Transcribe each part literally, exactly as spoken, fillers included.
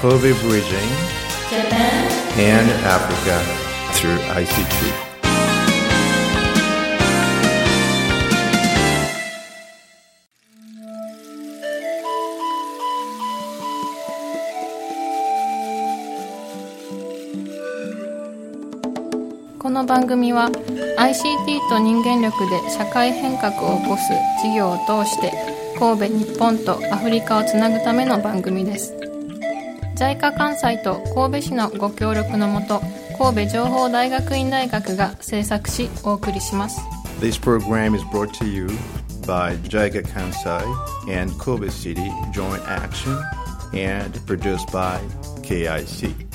Kobe Bridging Japan and Africa through アイシーティー. この番組は アイシーティー と人間力で社会変革を起こす事業を通して神戸、日本とアフリカをつなぐための番組です。ジャイカ 関西と神戸市のご協力のもと、神戸情報大学院大学が制作しお送りします。 This program is brought to you by ジャイカ Kansai and Kobe City Joint Action and produced by ケーアイシー.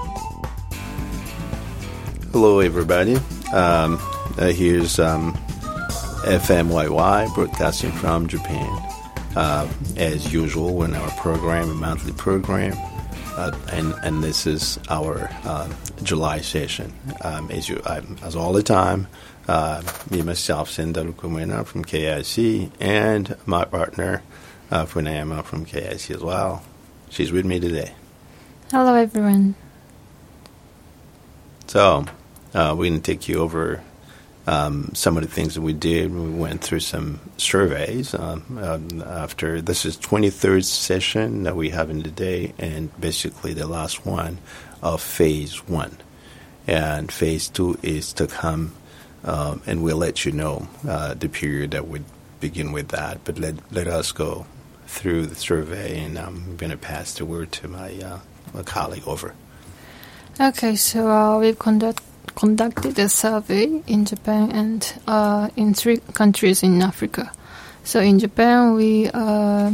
Hello, everybody. Um, uh, here's um, F M Y Y broadcasting from Japan. Uh, as usual, in our program, a monthly program, uh, and and this is our uh, July session. Um, as you, um, as all the time, uh, me myself, Sendaru Kumena from K I C, and my partner, uh, Funayama from K I C as well. She's with me today. Hello, everyone. So. Uh, we're going to take you over um, some of the things that we did. We went through some surveys um, um, after this is twenty-third session that we have in today, and basically the last one of phase one. And phase two is to come, um, and we'll let you know uh, the period that would begin with that. But let let us go through the survey, and I'm going to pass the word to my, uh, my colleague over. Okay, so uh, we've conducted conducted a survey in Japan and uh, in three countries in Africa. So in Japan, we uh,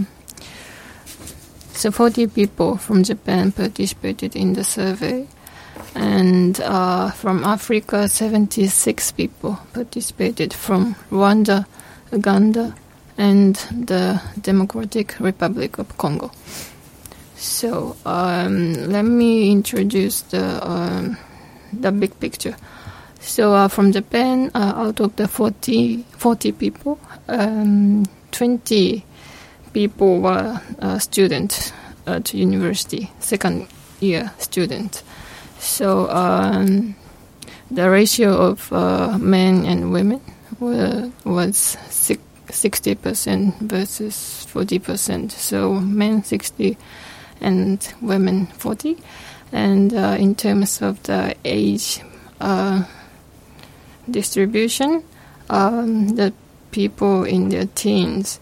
so forty people from Japan participated in the survey, and uh, from Africa, seventy-six people participated from Rwanda, Uganda, and the Democratic Republic of Congo. So um, let me introduce the um, the big picture. So uh, from Japan, uh, out of the forty, forty people, um, twenty people were uh, students at university, second year students. So um, the ratio of uh, men and women were, was sixty percent versus forty percent. So men sixty and women forty. And uh, in terms of the age uh, distribution, um, the people in their teens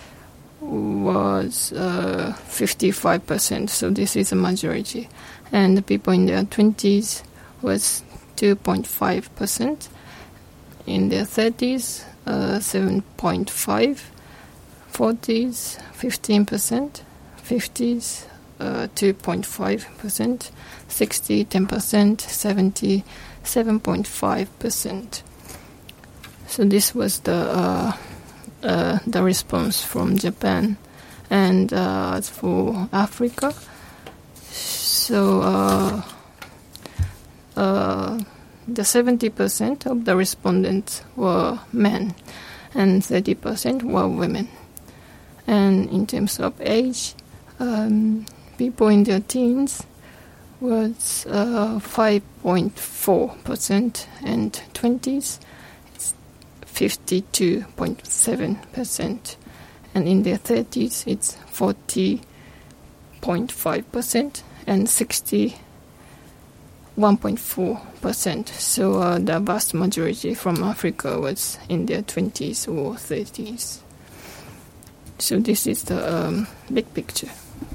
was uh, fifty-five percent, so this is a majority. And the people in their twenties was two point five percent. In their thirties, uh, seven point five. forties, fifteen percent. fifties, Uh, two point five percent, sixty, ten percent, seventy, seven point five percent. So this was the uh, uh, the response from Japan. And uh, as for Africa, so uh, uh, the seventy percent of the respondents were men and thirty percent were women. And in terms of age, um, people in their teens was uh, five point four percent, and twenties it's fifty-two point seven percent, and in their thirties it's forty point five percent and sixty-one point four percent. So uh, the vast majority from Africa was in their twenties or thirties. So this is the um, big picture.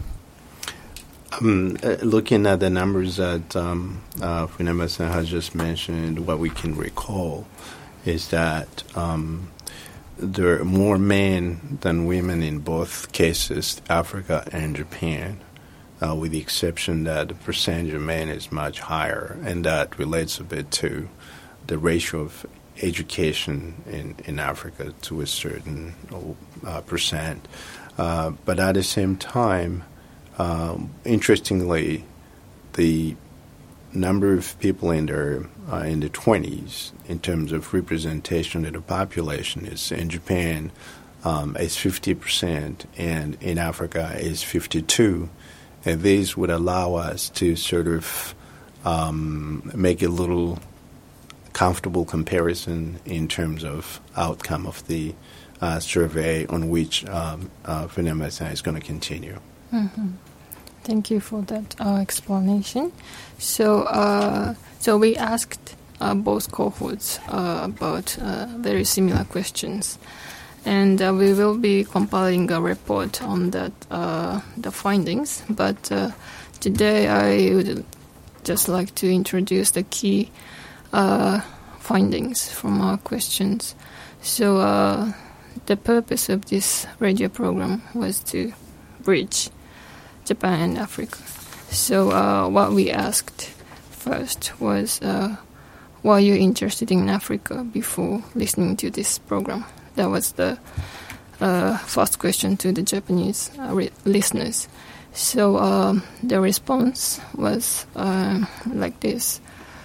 Um, uh, looking at the numbers that um, uh, Funema-san has just mentioned, what we can recall is that um, there are more men than women in both cases, Africa and Japan, uh, with the exception that the percentage of men is much higher, and that relates a bit to the ratio of education in, in Africa to a certain uh, percent. Uh, but at the same time, Um, interestingly, the number of people in their uh, in the twenties, in terms of representation of the population, is in Japan um, is fifty percent, and in Africa is fifty-two, And these would allow us to sort of um, make a little comfortable comparison in terms of outcome of the uh, survey on which um, uh, FUNEMA-S A is going to continue. Mm-hmm. Thank you for that uh, explanation. So, uh, so we asked uh, both cohorts uh, about uh, very similar questions, and uh, we will be compiling a report on that uh, the findings. But uh, today, I would just like to introduce the key uh, findings from our questions. So, uh, the purpose of this radio program was to bridge Japan and Africa. So uh, what we asked first was, uh, were you interested in Africa before listening to this program? That was the uh, first question to the Japanese uh, re- listeners. So um, the response was uh, like this.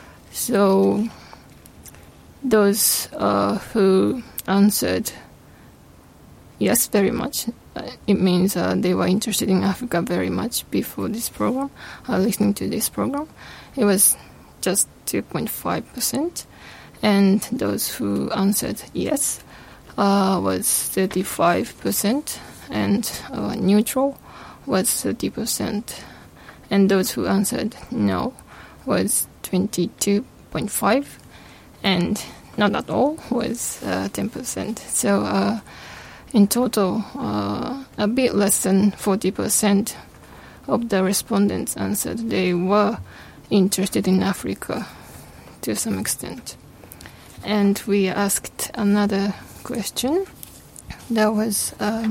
So those uh, who answered yes, very much. Uh, it means uh, they were interested in Africa very much before this program, uh, listening to this program. It was just two point five percent. And those who answered yes uh, was thirty-five percent. And uh, neutral was thirty percent. And those who answered no was twenty-two point five percent. And not at all was uh, ten percent. So, uh, in total, uh, a bit less than forty percent of the respondents answered they were interested in Africa to some extent. And we asked another question that was, uh,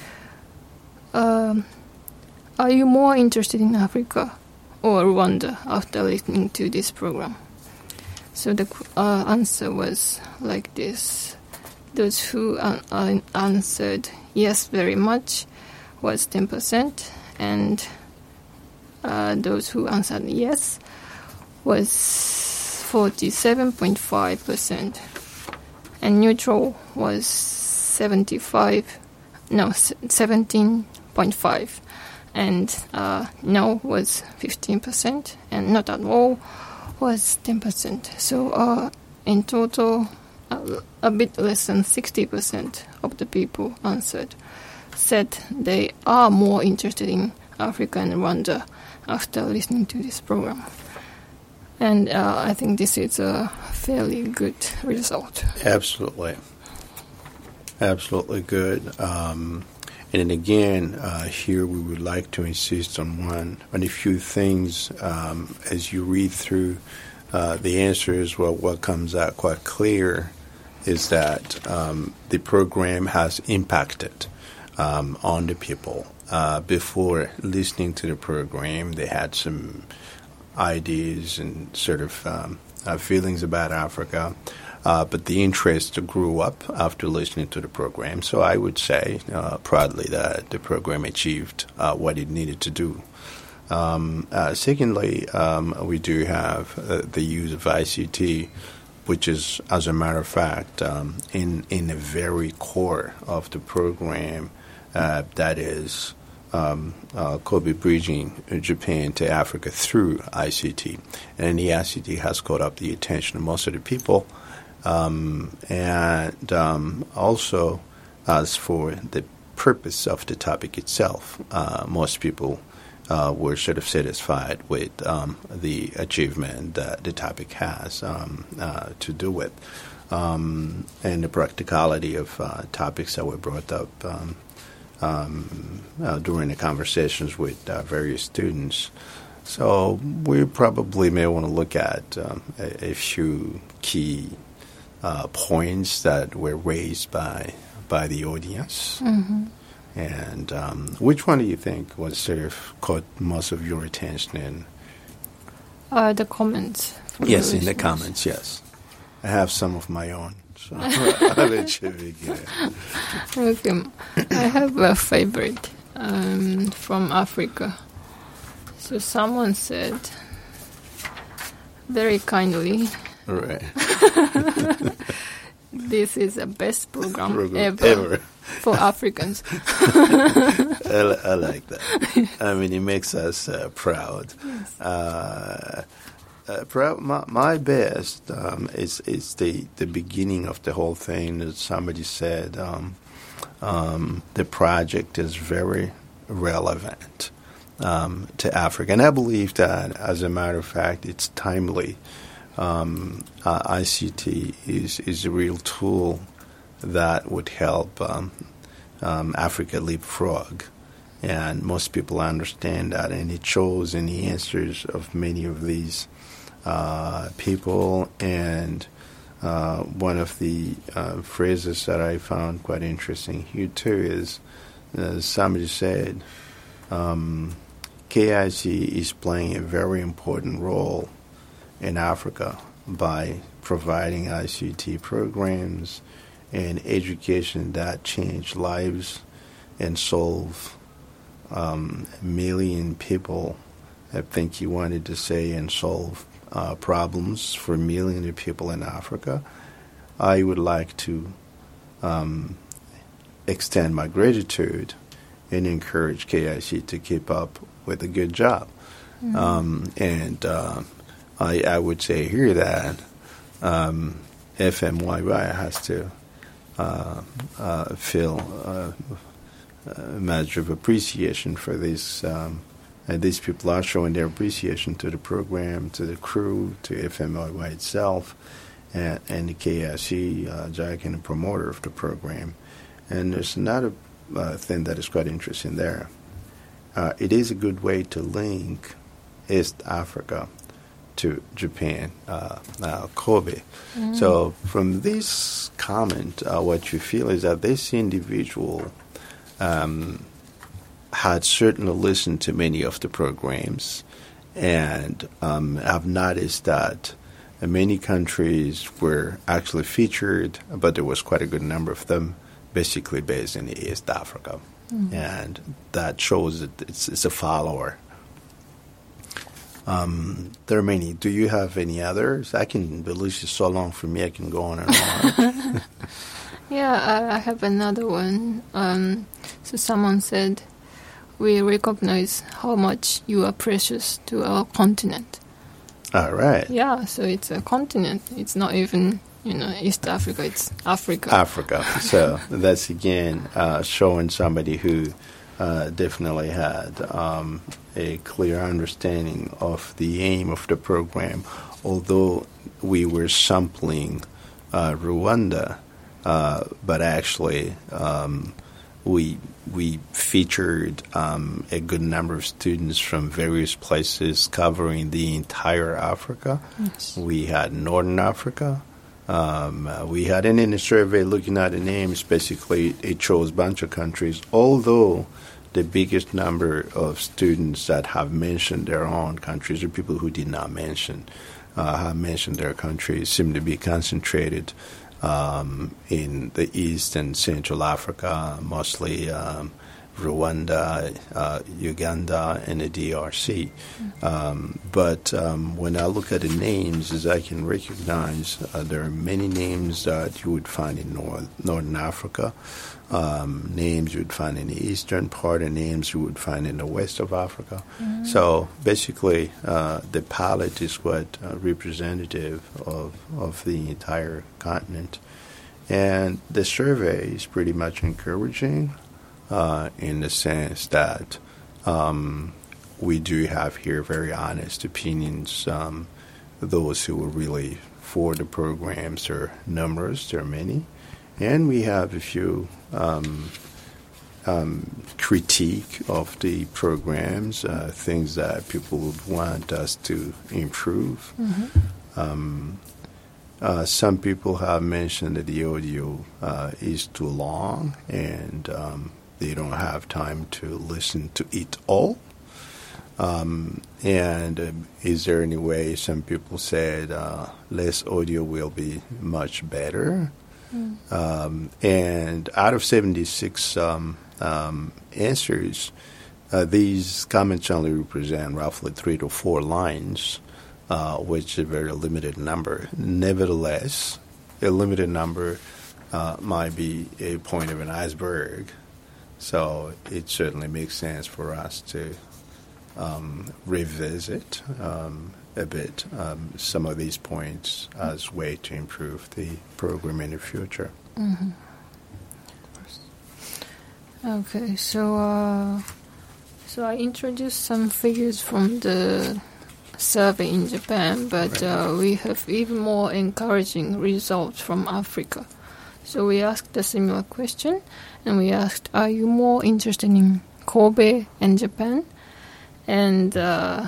uh, are you more interested in Africa or Rwanda after listening to this program? So the uh, answer was like this. Those who uh, uh, answered yes very much was ten percent, and uh, those who answered yes was forty-seven point five percent, and neutral was seventy-five, no, seventeen point five, and uh, no was fifteen percent, and not at all was ten percent. So uh, in total, a, a bit less than sixty percent of the people answered said they are more interested in Africa and Rwanda after listening to this program. And uh, I think this is a fairly good result. Absolutely. Absolutely good. Um, and then again, uh, here we would like to insist on one, on a few things um, as you read through uh, the answers. Well, what comes out quite clear is that um, the program has impacted um, on the people. Uh, before listening to the program, they had some ideas and sort of um, uh, feelings about Africa. Uh, but the interest grew up after listening to the program. So I would say uh, proudly that the program achieved uh, what it needed to do. Um, uh, secondly, um, we do have uh, the use of I C T, which is, as a matter of fact, um, in, in the very core of the program, uh, that is um, uh, Kobe bridging Japan to Africa through I C T. And the I C T has caught up the attention of most of the people. Um, and um, also, as for the purpose of the topic itself, uh, most people uh, were sort of satisfied with um, the achievement that the topic has um, uh, to do with, um, and the practicality of uh, topics that were brought up um, um, uh, during the conversations with uh, various students. So we probably may want to look at um, a, a few key Uh, points that were raised by by the audience. Mm-hmm. And um, which one do you think was sort of caught most of your attention in? Uh, the comments. Yes, in the comments, yes. I have some of my own, so I'll let you begin. Okay. I have a favorite um, from Africa. So someone said, very kindly, Right. this is the best program, program ever, ever. For Africans. I, I like that. I mean, it makes us uh, proud. Yes. Uh, uh, proud. My, my best um, is is the, the beginning of the whole thing. That somebody said um, um, the project is very relevant um, to Africa, and I believe that, as a matter of fact, it's timely. Um, uh, I C T is is a real tool that would help um, um, Africa leapfrog, and most people understand that, and it shows in the answers of many of these uh, people. And uh, one of the uh, phrases that I found quite interesting here too is uh, somebody said um, K I C is playing a very important role in Africa by providing I C T programs and education that change lives and solve um, a million people. I think he wanted to say and solve uh, problems for millions of people in Africa. I would like to um, extend my gratitude and encourage K I C to keep up with a good job. Mm-hmm. Um, and uh, I, I would say here that um, F M Y Y has to uh, uh, feel uh, a measure of appreciation for this. Um, and these people are showing their appreciation to the program, to the crew, to F M Y Y itself, and, and the K I C, uh, Jack, and the promoter of the program. And there's another uh, thing that is quite interesting there. Uh, it is a good way to link East Africa to Japan, uh, uh, Kobe. Mm. So from this comment, uh, what you feel is that this individual um, had certainly listened to many of the programs and um, have noticed that many countries were actually featured, but there was quite a good number of them basically based in East Africa. Mm. And that shows that it's, it's a follower. Um, there are many. Do you have any others? I can, the list is so long for me, I can go on and on. Yeah, I, I have another one. Um, so someone said, we recognize how much you are precious to our continent. All right. Yeah, so it's a continent. It's not even, you know, East Africa, it's Africa. Africa. So that's, again, uh, showing somebody who uh, definitely had um, a clear understanding of the aim of the program. Although we were sampling uh, Rwanda, uh, but actually um, we we featured um, a good number of students from various places covering the entire Africa. Yes. We had Northern Africa. Um, uh, we had an in the survey looking at the names. Basically, it chose a bunch of countries, although the biggest number of students that have mentioned their own countries, or people who did not mention, uh, have mentioned their countries, seem to be concentrated um, in the East and Central Africa, mostly um, Rwanda, uh, Uganda, and the D R C. Mm-hmm. Um, but um, when I look at the names, as I can recognize, uh, there are many names that you would find in North, Northern Africa, um, names you would find in the eastern part, and names you would find in the west of Africa. Mm-hmm. So basically, uh, the palette is what uh, representative of, of the entire continent. And the survey is pretty much encouraging. Uh, in the sense that um, we do have here very honest opinions. Um, those who are really for the programs are numerous, there are many. And we have a few um, um, critique of the programs, uh, things that people would want us to improve. Mm-hmm. Um, uh, some people have mentioned that the audio uh, is too long, and um, they don't have time to listen to it all. Um, and uh, is there any way, some people said, uh, less audio will be much better. Mm. Um, and out of seventy-six um, um, answers, uh, these comments only represent roughly three to four lines, uh, which is a very limited number. Nevertheless, a limited number uh, might be a point of an iceberg. So it certainly makes sense for us to um, revisit um, a bit um, some of these points as way to improve the program in the future. Mm-hmm. Okay, so uh, so I introduced some figures from the survey in Japan, but right. uh, we have even more encouraging results from Africa. So we asked a similar question, and we asked, are you more interested in Kobe and Japan? And uh,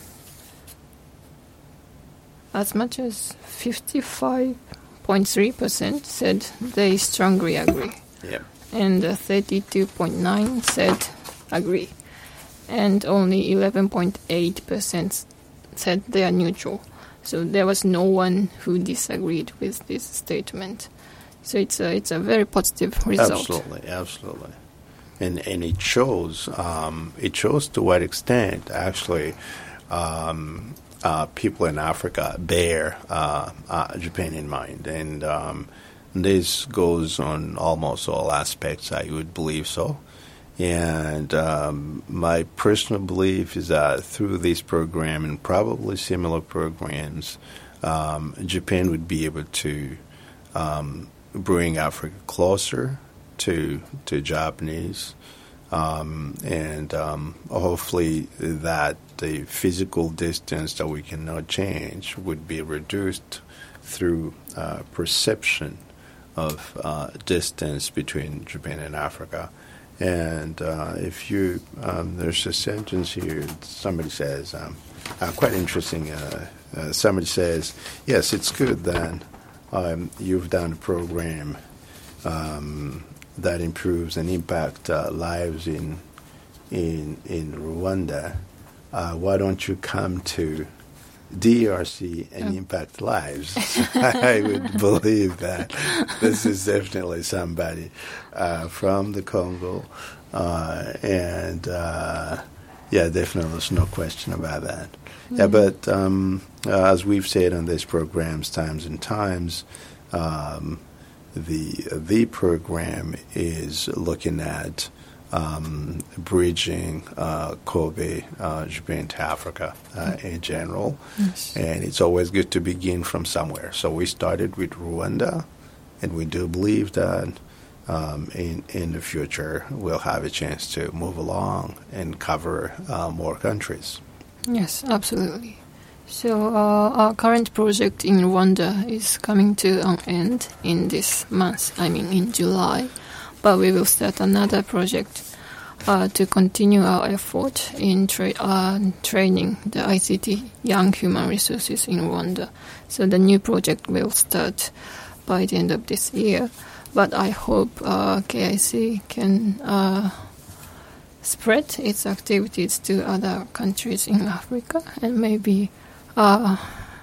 as much as fifty-five point three percent said they strongly agree. Yep. And uh, thirty-two point nine said agree. And only eleven point eight percent said they are neutral. So there was no one who disagreed with this statement. So it's a, it's a very positive result. Absolutely, absolutely. And and it shows um, it shows to what extent actually um, uh, people in Africa bear uh, uh, Japan in mind, and um, this goes on almost all aspects. I would believe so. And um, my personal belief is that through this program and probably similar programs, um, Japan would be able to um, bring Africa closer to to Japanese, um, and um, hopefully that the physical distance that we cannot change would be reduced through uh, perception of uh, distance between Japan and Africa. And uh, if you, um, there's a sentence here, somebody says, um, uh, quite interesting, uh, uh, somebody says, yes, it's good that um, you've done a program um, that improves and impacts uh, lives in, in, in Rwanda. Uh, why don't you come to D R C and oh. impact lives? I would believe that this is definitely somebody uh, from the Congo, uh, and uh, yeah, definitely there's no question about that. Mm-hmm. Yeah, but um, uh, as we've said on these programs times and times, um, the the program is looking at Um, bridging uh, Kobe, uh, Japan to Africa uh, in general. Yes. And it's always good to begin from somewhere. So we started with Rwanda, and we do believe that um, in, in the future we'll have a chance to move along and cover uh, more countries. Yes, absolutely. So uh, our current project in Rwanda is coming to an end in this month, I mean in July. But we will start another project uh, to continue our effort in tra- uh, training the I C T young human resources in Rwanda. So the new project will start by the end of this year. But I hope uh, K I C can uh, spread its activities to other countries in Africa and maybe uh,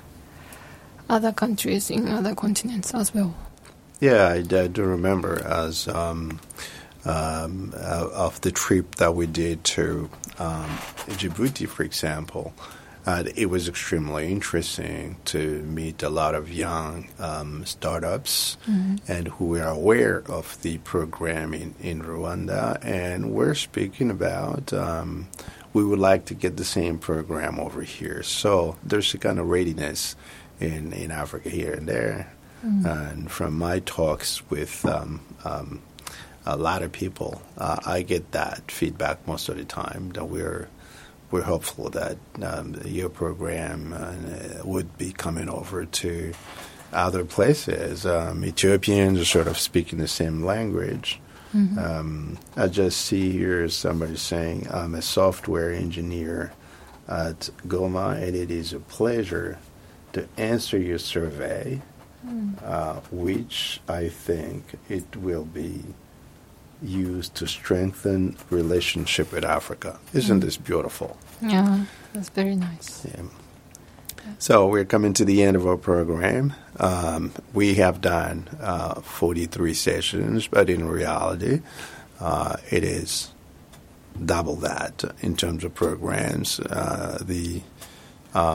other countries in other continents as well. Yeah, I, I do remember as um, um, uh, of the trip that we did to um, Djibouti, for example. Uh, it was extremely interesting to meet a lot of young um, startups mm-hmm. and who were aware of the program in, in Rwanda. And we're speaking about um, we would like to get the same program over here. So there's a kind of readiness in, in Africa here and there. Mm. And from my talks with um, um, a lot of people, uh, I get that feedback most of the time that we're we're hopeful that um, your program uh, would be coming over to other places. Um, Ethiopians are sort of speaking the same language. Mm-hmm. Um, I just see here somebody saying, I'm a software engineer at Goma, and it is a pleasure to answer your survey. Uh, which I think it will be used to strengthen relationship with Africa. Isn't mm. this beautiful? Yeah, that's very nice. Yeah. So we're coming to the end of our program. Um, we have done uh, forty-three sessions, but in reality, uh, it is double that in terms of programs. Uh, the um,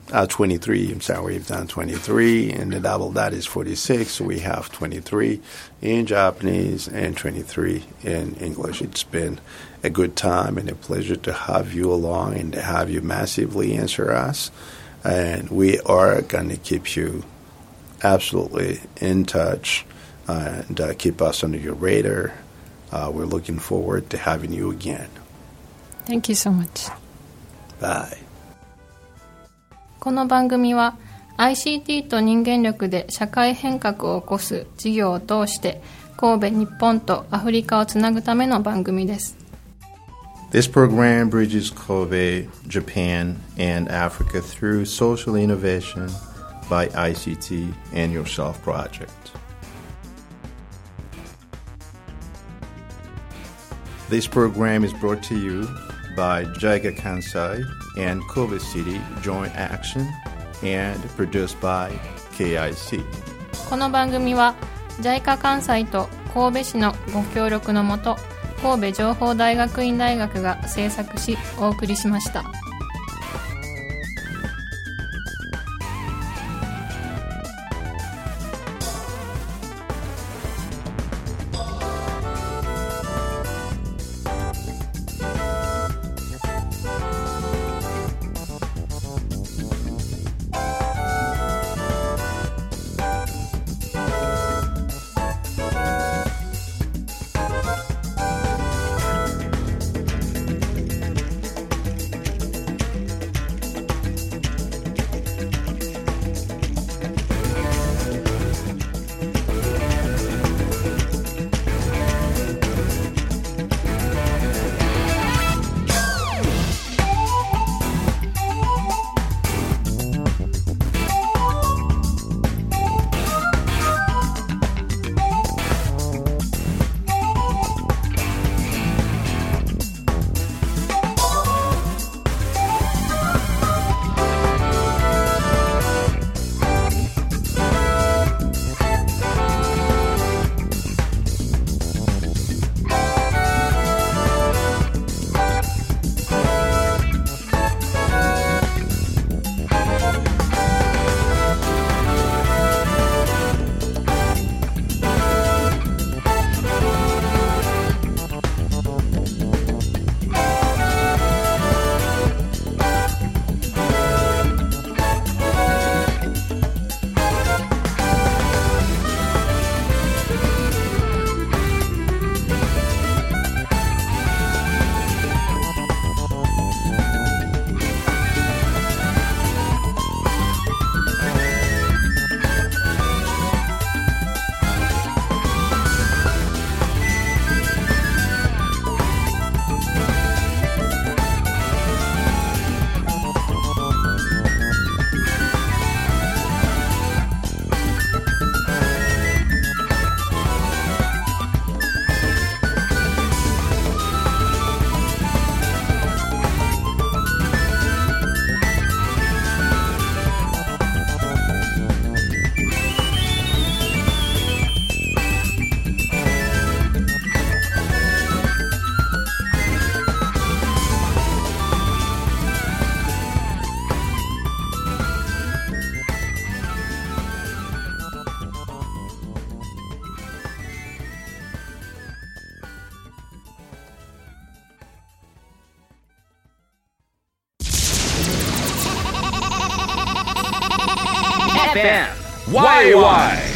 uh, twenty-three. I'm sorry, we've done twenty-three, and the double that is forty-six. So we have twenty-three in Japanese and twenty-three in English. It's been a good time and a pleasure to have you along and to have you massively answer us. And we are going to keep you absolutely in touch and uh, keep us under your radar. Uh, we're looking forward to having you again. Thank you so much. Bye. この番組は アイシーティー と人間力で社会変革を起こす事業を通して神戸、日本とアフリカをつなぐための番組です。 This program bridges Kobe, Japan, and Africa through social innovation by I C T and Yourself Project. This program is brought to you by JICA Kansai and Kobe City Joint Action and produced by ケーアイシー。 この番組は ジャイカ 関西と神戸市のご協力のもと神戸情報大学院大学が制作しお送りしました。 エフエム ワイワイ